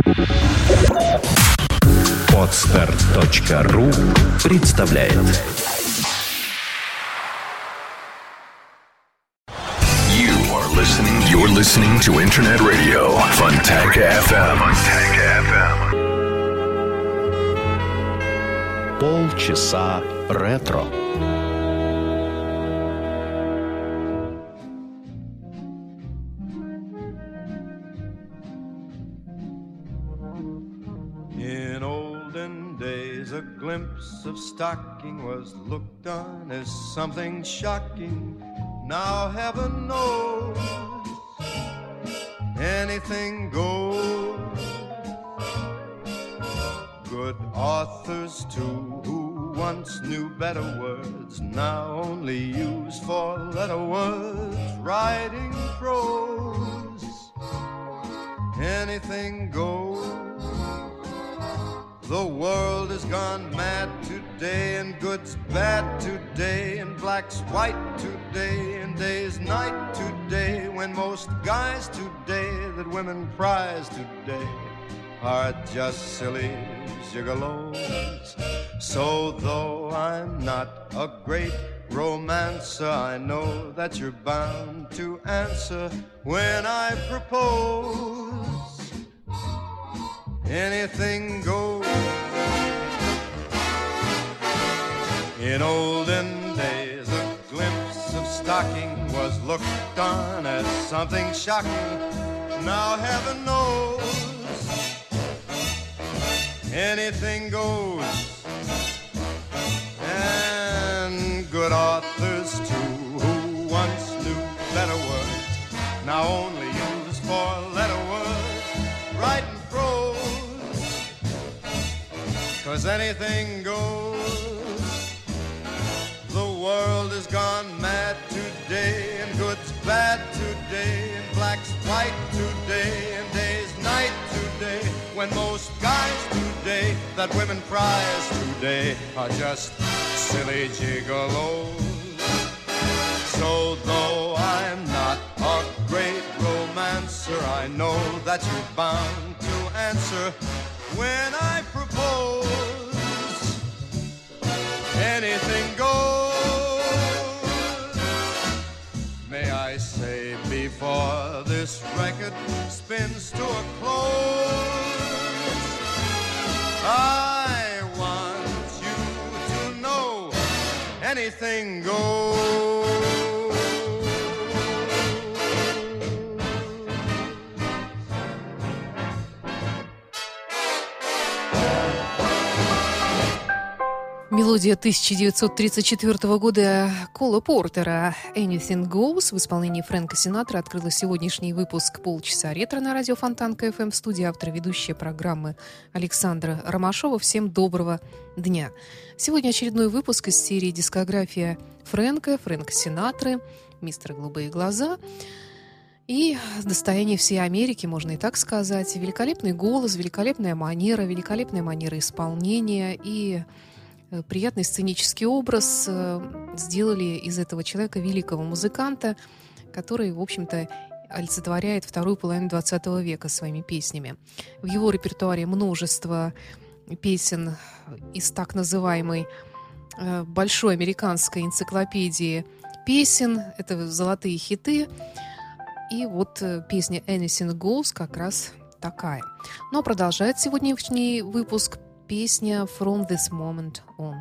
Podster.ru представляет. You're listening to Internet Radio Fontanka FM. Полчаса ретро. In olden days, a glimpse of stocking was looked on as something shocking. Now heaven knows anything goes. Good authors too, who once knew better words, now only use four-letter words, writing prose. Anything goes. The world has gone mad today, and good's bad today, and black's white today, and day's night today, when most guys today that women prize today are just silly gigolos. So though I'm not a great romancer, I know that you're bound to answer when I propose. Anything goes. In olden days, a glimpse of stocking was looked on as something shocking. Now heaven knows anything goes. And good authors too, who once knew better words, now only use four-letter words, writing prose. 'Cause anything goes. The world has gone mad today, and good's bad today, and black's white today, and day's night today, when most guys today that women prize today are just silly gigolos. So though I'm not a great romancer, I know that you're bound to answer when I propose. Anything goes. May I say before this record spins to a close, I want you to know anything goes. Мелодия 1934 года Кола Портера «Anything Goes» в исполнении Фрэнка Синатра открыла сегодняшний выпуск «Полчаса ретро» на радио Фонтанка FM. В студии автор и ведущая программы Александра Ромашова. Всем доброго дня. Сегодня очередной выпуск из серии «Дискография Фрэнка Синатры», «Мистер Голубые глаза». И достояние всей Америки, можно и так сказать. Великолепный голос, великолепная манера исполнения и приятный сценический образ сделали из этого человека великого музыканта, который, в общем-то, олицетворяет вторую половину XX века своими песнями. В его репертуаре множество песен из так называемой большой американской энциклопедии песен. Это золотые хиты. И вот песня «Anything Goes» как раз такая. Но продолжает сегодняшний выпуск песня «From This Moment On».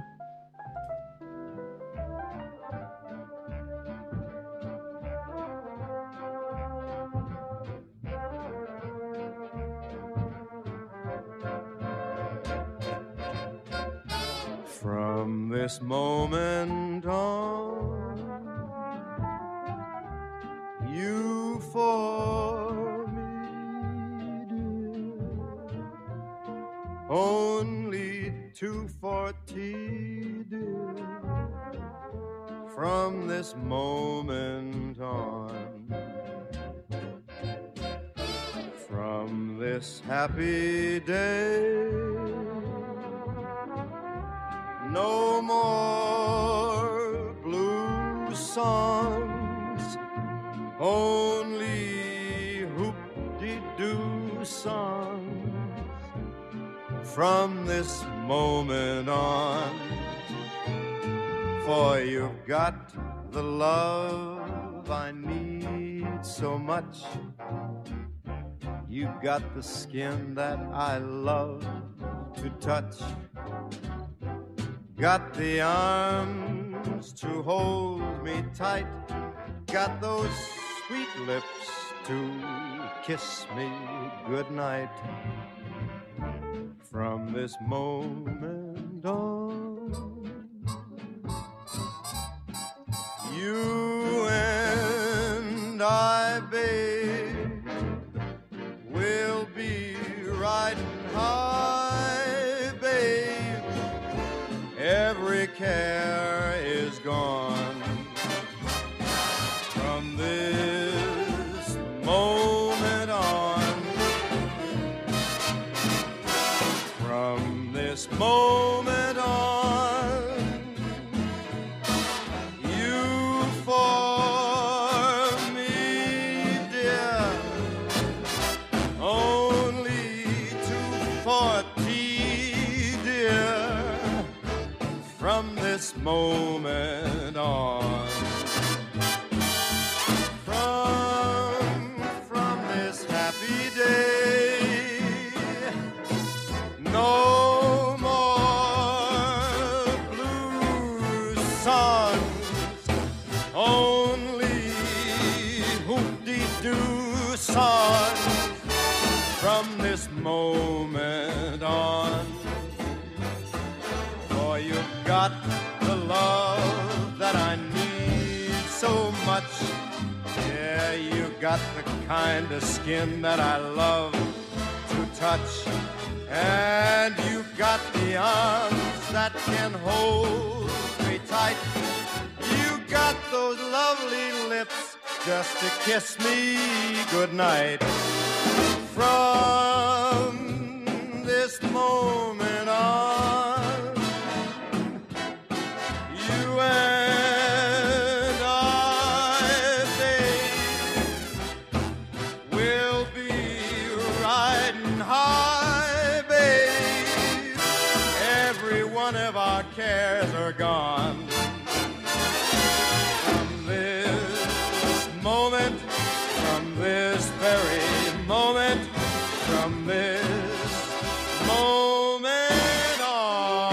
From this moment on, you for me, dear, only 240, dear. From this moment on, from this happy day, no more blue songs, only hoop-de-doo songs. from this moment on. For you've got the love I need so much. You've got the skin that I love to touch. Got the arms to hold me tight. Got those sweet lips to kiss me goodnight. From this moment on, you and I, babe, will be riding high, babe. Every care is gone. From this moment on, from this moment on, you for me, dear, only 240, dear, from this moment on. From this happy day, no more blue songs, only hoop-dee-doo songs. From this moment on, for you've got the love that I need so much. Yeah, you got the kind of skin that I love to touch. And you got the arms that can hold me tight. You got those lovely lips just to kiss me goodnight. From this moment on, you and I, babe, will be riding high, babe. Every one of our cares are gone. From this moment, from this very moment, from this moment on.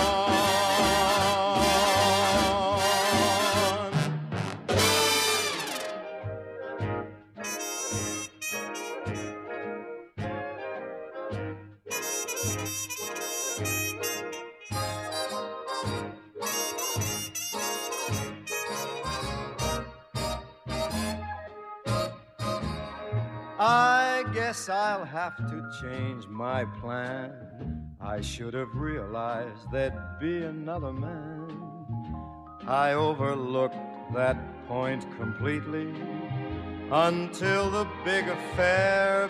I guess I'll have to change my plan. I should have realized there'd be another man. I overlooked that point completely until the big affair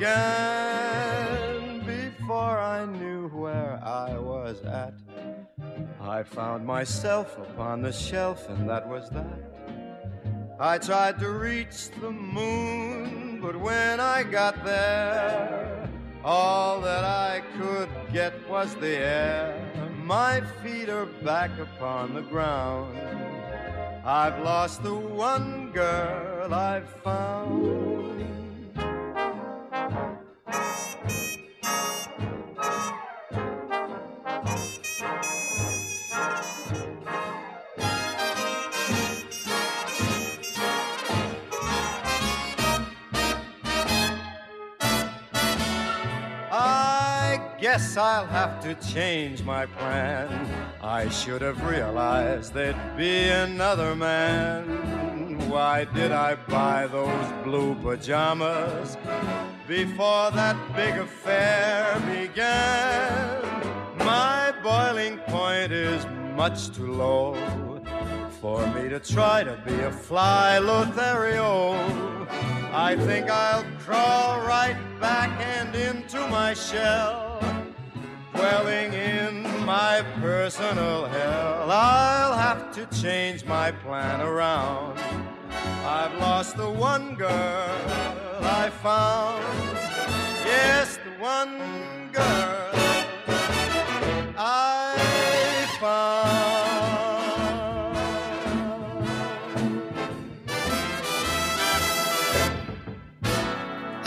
began. Before I knew where I was at, I found myself upon the shelf, and that was that. I tried to reach the moon, but when I got there, all that I could get was the air. My feet are back upon the ground. I've lost the one girl I've found. Guess I'll have to change my plan. I should have realized there'd be another man. Why did I buy those blue pajamas before that big affair began? My boiling point is much too low for me to try to be a fly Lothario. I think I'll crawl right back and into my shell, dwelling in my personal hell. I'll have to change my plan around. I've lost the one girl I found. Yes, the one girl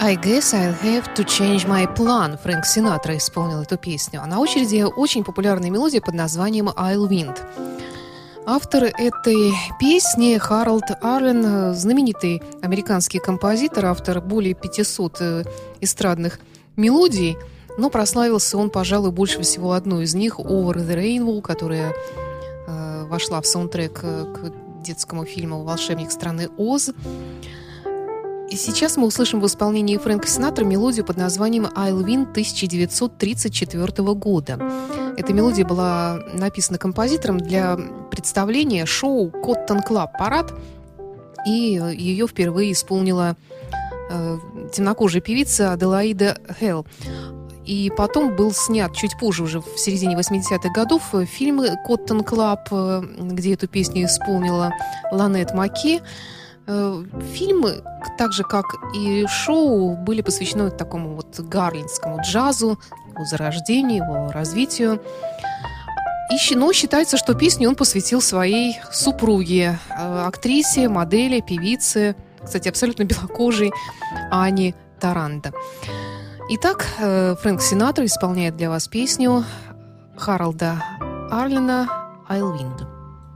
I guess I'll have to change my plan. Фрэнк Синатра исполнил эту песню. А на очереди очень популярная мелодия под названием I'll Wind. Автор этой песни Харалд Арлен, знаменитый американский композитор, автор более 500 эстрадных мелодий, но прославился он, пожалуй, больше всего одной из них, Over the Rainbow, которая вошла в саундтрек к детскому фильму «Волшебник страны Оз». И сейчас мы услышим в исполнении Фрэнка Синатра мелодию под названием «I'll Win» 1934 года. Эта мелодия была написана композитором для представления шоу «Коттон Клаб Парад», и ее впервые исполнила темнокожая певица Аделаида Хелл. И потом был снят чуть позже, уже в середине 80-х годов, фильм «Коттон Клаб», где эту песню исполнила Ланет Маки. Фильмы, так же как и шоу, были посвящены такому вот гарлемскому джазу, его зарождению, его развитию. Но считается, что песню он посвятил своей супруге, актрисе, модели, певице, кстати, абсолютно белокожей Ани Таранда. Итак, Фрэнк Синатра исполняет для вас песню Харалда Арлена «I'll Wind».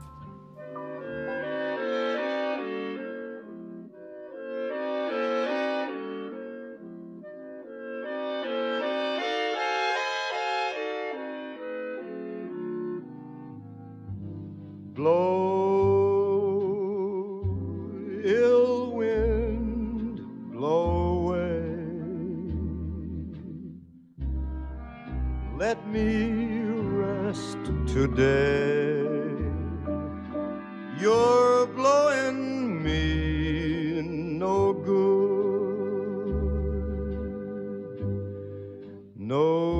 Blow, ill wind, blow away. Let me rest today. You're blowing me no good, no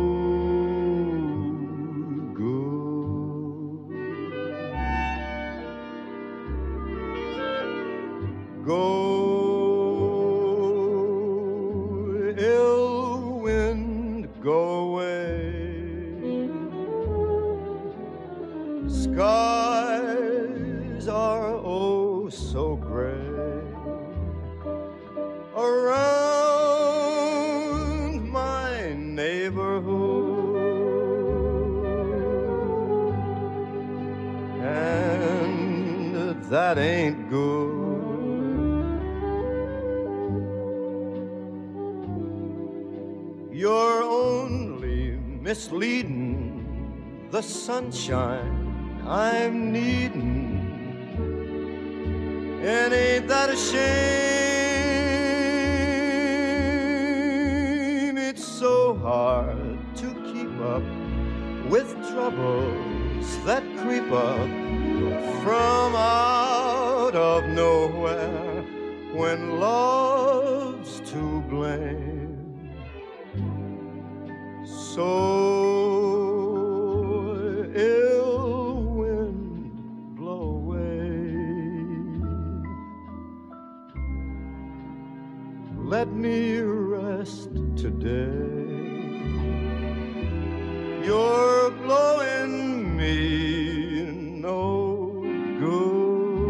go, ill wind, go away. Skies are oh so gray around my neighborhood, and that ain't good. You're only misleading the sunshine I'm needing, and ain't that a shame? It's so hard to keep up with troubles that creep up from out of nowhere when love's to blame. So ill wind, blow away. Let me rest today. You're blowing me no good.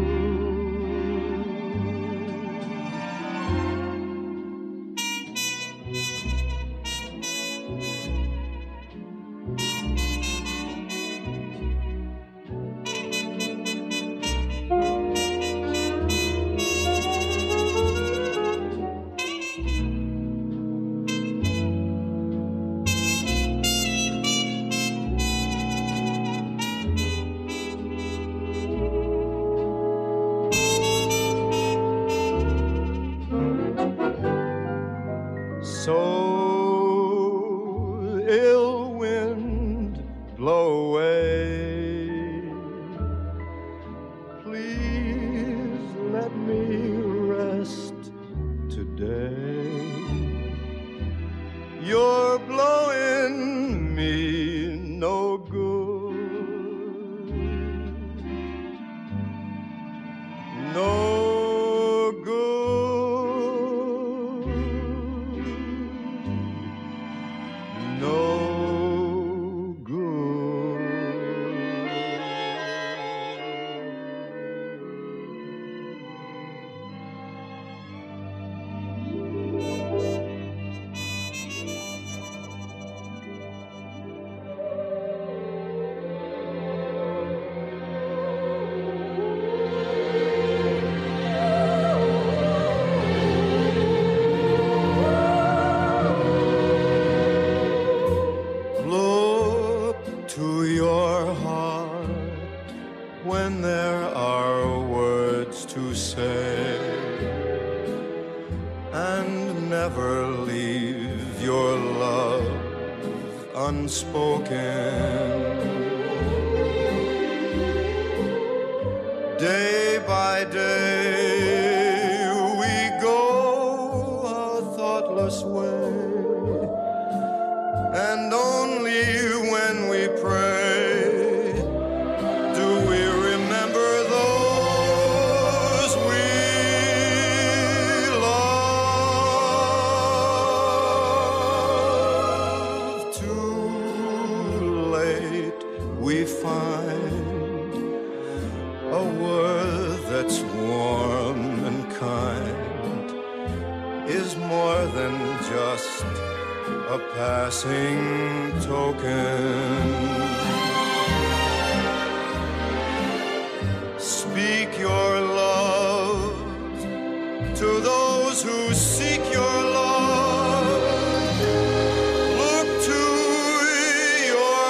So ill wind, blow away. Please let me rest today. You're blowing me no good, no good. unspoken. Day by day we go our thoughtless way, and only when we pray do we remember those we love. Too late we find a word that's warm and kind is more than just a passing token. Speak your love to those who seek your love. Look to your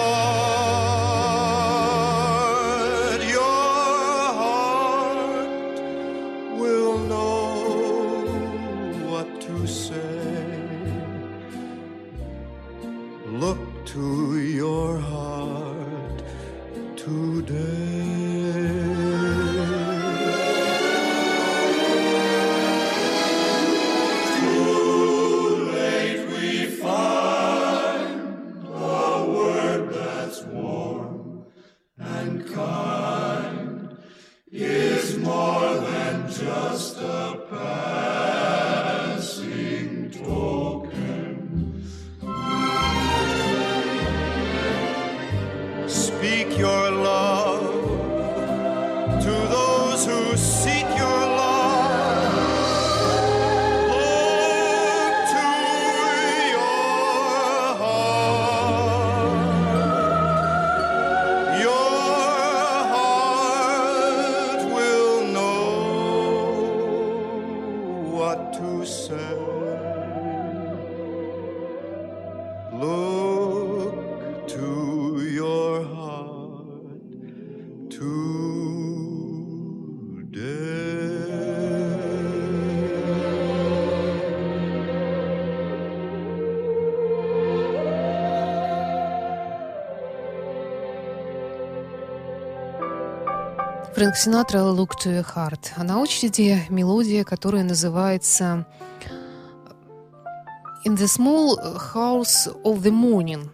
heart. Your heart will know what to say. Look to your heart today. Speak your love to those who seek your love. Look to your heart. Your heart will know what to say. Look to your heart today. Фрэнк Синатра «Look to your heart». А на очереди мелодия, которая называется «In the small house of the morning».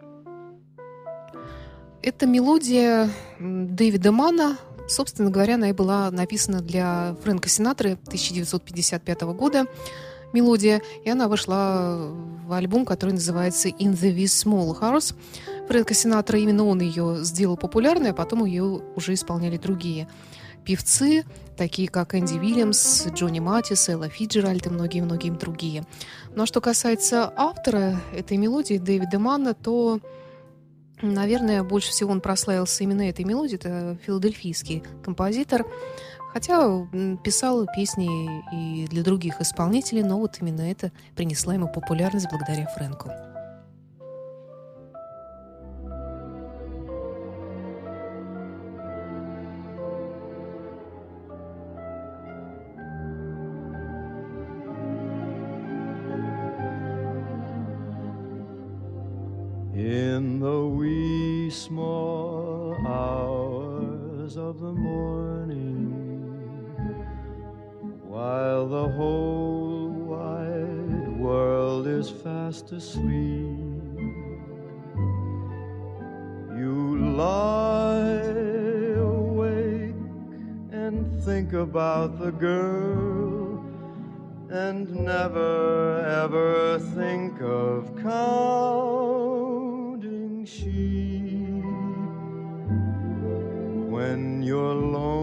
Это мелодия Дэвида Манна. Собственно говоря, она и была написана для Фрэнка Синатры 1955 года. Мелодия, и она вошла в альбом, который называется «In the Wee Small House». Фрэнка Синатра, именно он ее сделал популярной, а потом ее уже исполняли другие певцы, такие как Энди Уильямс, Джонни Матис, Элла Фиджеральд и многие-многие другие. Ну а что касается автора этой мелодии, Дэвида Манна, то, наверное, больше всего он прославился именно этой мелодией. Это филадельфийский композитор. Хотя писал песни и для других исполнителей, но вот именно это принесло ему популярность благодаря Фрэнку. In the wee small hours of the morning, while the whole wide world is fast asleep, you lie awake and think about the girl, and never ever think of counting sheep. When your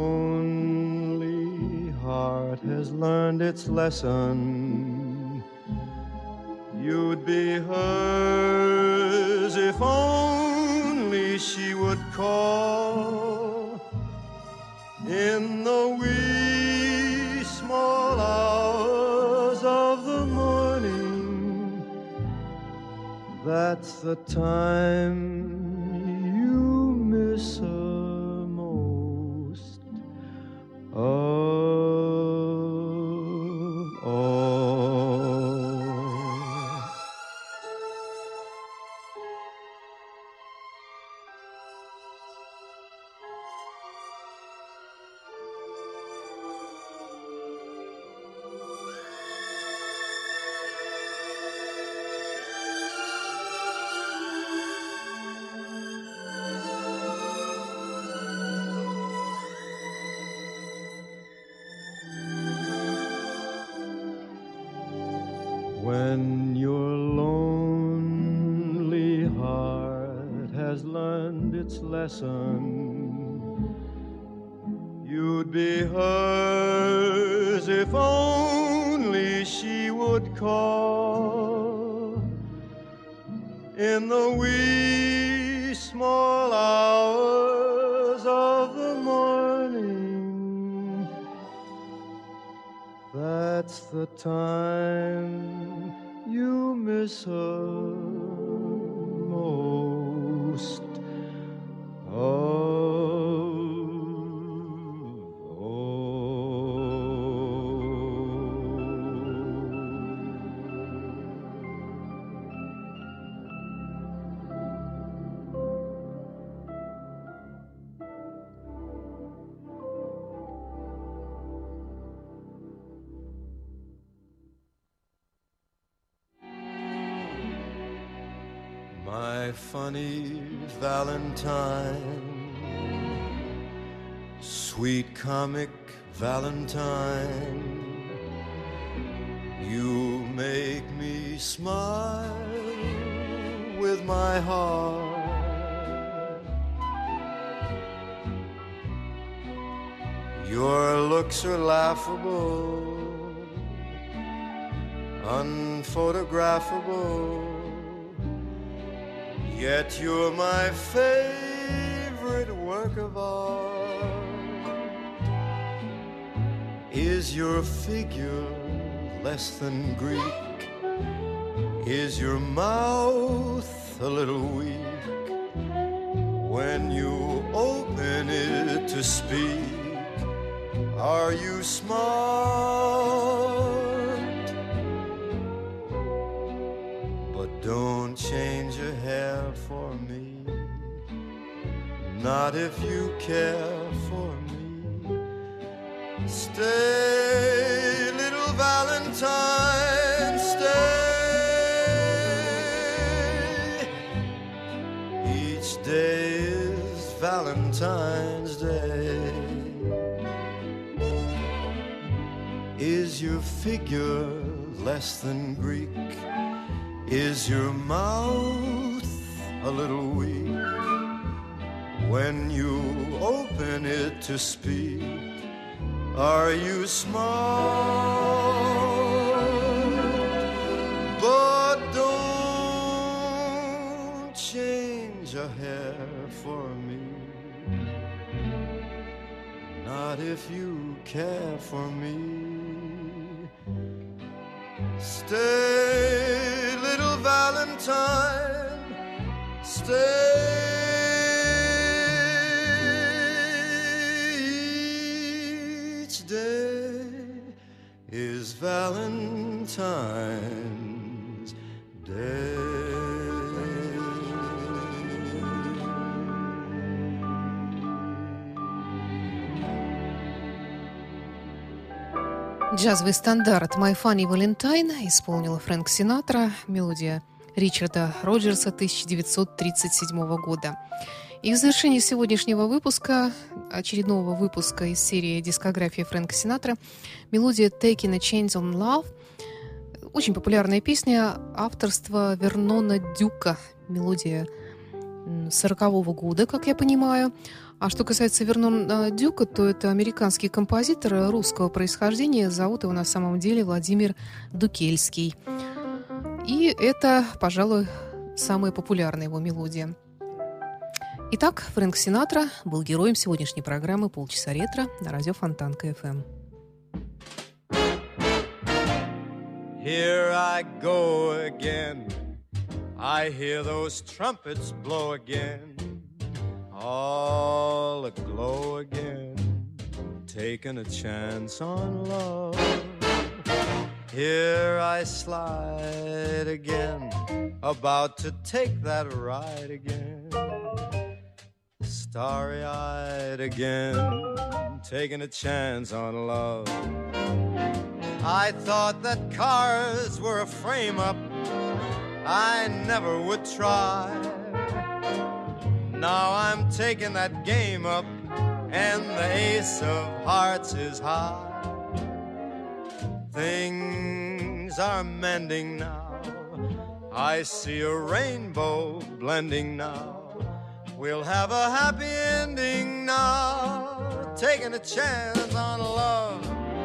lonely heart has learned its lesson, you'd be hers if only she would call. In the wee small hours of the morning, that's the time you miss her most of all. learned its lesson. You'd be hers if only she would call in the wee small hours of the morning. That's the time you miss her most of all. My funny Valentine, sweet comic Valentine, you make me smile with my heart. Your looks are laughable, unphotographable, yet you're my favorite work of art. Is your figure less than Greek? Is your mouth a little weak? When you open it to speak, are you smart? But don't change your hair for me, not if you care for me. Stay, little Valentine, stay. Each day is Valentine's Day. Is your figure less than Greek? Is your mouth a little weak? When you open it to speak, are you smart? But don't change a hair for me, not if you care for me. Stay, little Valentine, stay. Each day is Valentine's Day. Джазовый стандарт «My Funny Valentine» исполнила Фрэнк Синатра, мелодия Ричарда Роджерса 1937 года. И в завершении сегодняшнего выпуска, очередного выпуска из серии дискографии Фрэнка Синатра, мелодия «Taking a Chance on Love». Очень популярная песня авторства Вернона Дюка, мелодия 40-го года, как я понимаю. А что касается Вернона Дюка, то это американский композитор русского происхождения. Зовут его на самом деле Владимир Дукельский. И это, пожалуй, самая популярная его мелодия. Итак, Фрэнк Синатра был героем сегодняшней программы «Полчаса ретро» на радио Фонтанка FM. Here I go again. I hear those trumpets blow again. All aglow again. Taking a chance on love. Here I slide again. About to take that ride again. Starry-eyed again. Taking a chance on love. I thought that cars were a frame-up I never would try. Now I'm taking that game up, and the ace of hearts is high. Things are mending now. I see a rainbow blending now. We'll have a happy ending now, taking a chance on love.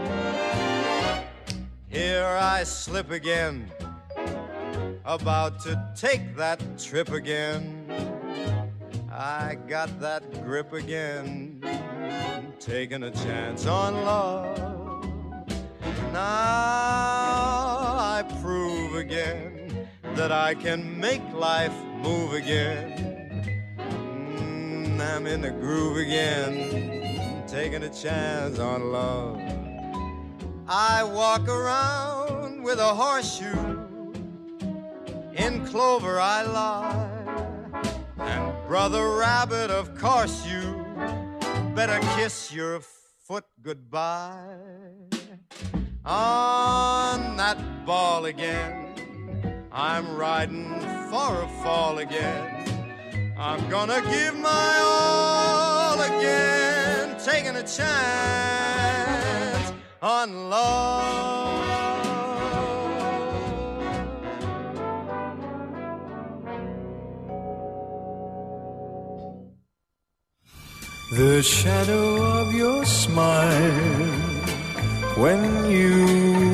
Here I slip again, about to take that trip again. I got that grip again, taking a chance on love. Now I prove again that I can make life move again. I'm in the groove again, taking a chance on love. I walk around with a horseshoe, in clover I lie. And Brother Rabbit, of course you better kiss your foot goodbye. On that ball again, I'm riding for a fall again. I'm gonna give my all again, taking a chance on love. The shadow of your smile when you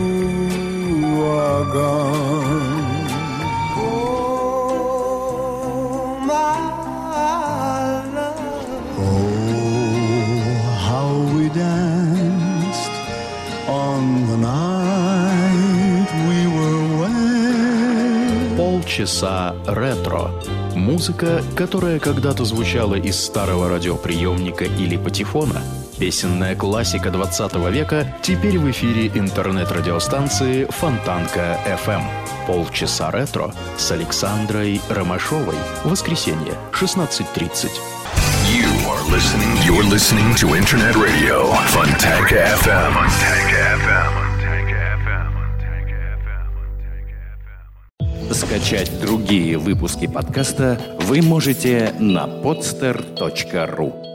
are gone. Oh, my love. Oh, how we danced on the night we were wed. Полчаса ретро. Музыка, которая когда-то звучала из старого радиоприемника или патефона. Песенная классика 20 века теперь в эфире интернет-радиостанции Фонтанка FM. Полчаса ретро с Александрой Ромашовой. Воскресенье, 16:30. You're listening to Internet Radio Фонтанка FM. Скачать другие выпуски подкаста вы можете на podster.ru.